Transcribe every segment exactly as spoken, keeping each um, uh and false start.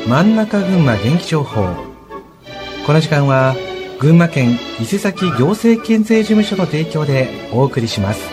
真ん中群馬元気情報。この時間は群馬県伊勢崎行政県税事務所の提供でお送りします。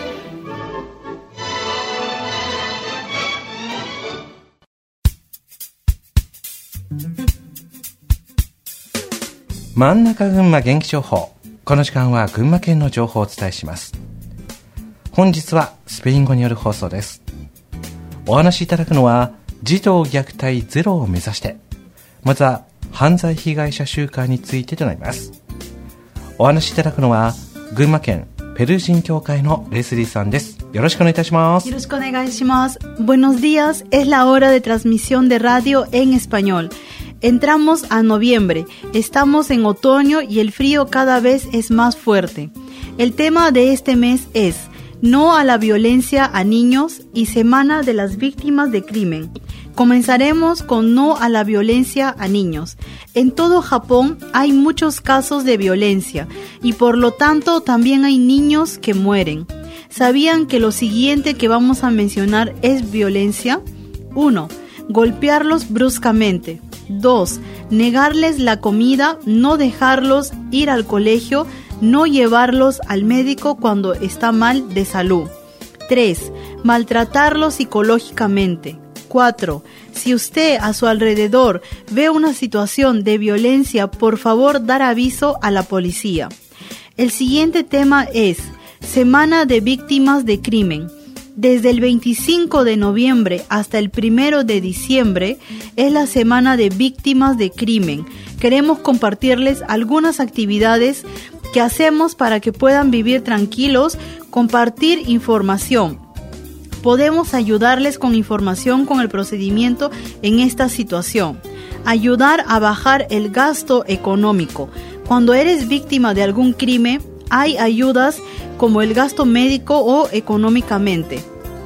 真ん中群馬元気情報。この時間は群馬県の情報をお伝えします。本日はスペイン語による放送です。お話しいただくのは児童虐待ゼロを目指して、まずは犯罪被害者週間についてとなります。お話しいただくのは群馬県ペルー人協会のレスリーさんです。よろしくお願いいたします。 よろしくお願いします。Buenos días, es la hora de transmisión de radio en español. Entramos a noviembre, estamos en otoño y el frío cada vez es más fuerte. El tema de este mes es No a la violencia a niños y Semana de las Víctimas de Crimen. Comenzaremos con No a la violencia a niños. En todo Japón hay muchos casos de violencia y por lo tanto también hay niños que mueren. ¿Sabían que lo siguiente que vamos a mencionar es violencia? uno. Golpearlos bruscamente. dos. Negarles la comida, no dejarlos ir al colegio, no llevarlos al médico cuando está mal de salud. tres. Maltratarlos psicológicamente. cuatro. Si usted a su alrededor ve una situación de violencia, por favor dar aviso a la policía. El siguiente tema es Semana de Víctimas de Crimen. Desde el veinticinco de noviembre hasta el primero de diciembre es la Semana de Víctimas de Crimen. Queremos compartirles algunas actividades que hacemos para que puedan vivir tranquilos, compartir información. Podemos ayudarles con información con el procedimiento en esta situación. Ayudar a bajar el gasto económico. Cuando eres víctima de algún crimen, hay ayudas como el gasto médico o económicamente.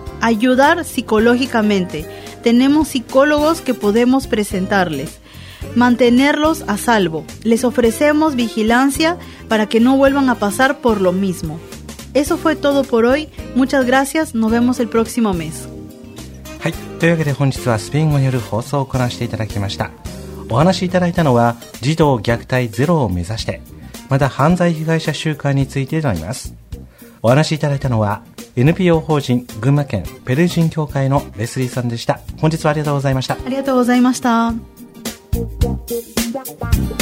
Ayudar psicológicamente. Tenemos psicólogos que podemos presentarles. Mantenerlos a salvo. Les ofrecemos vigilancia para que no vuelvan a pasar por lo mismo. Eso fue todo por hoy. Muchas gracias. Nos vemos el próximo mes. はい、というわけで本日はスペイン語による放送を行わせていただきました。お話しいただいたのは児童虐待ゼロを目指して、また犯罪被害者週間についてとなります。お話しいただいたのは エヌピーオー 法人群馬県ペルー人協会のレスリーさんでした。本日はありがとうございました。 ありがとうございました。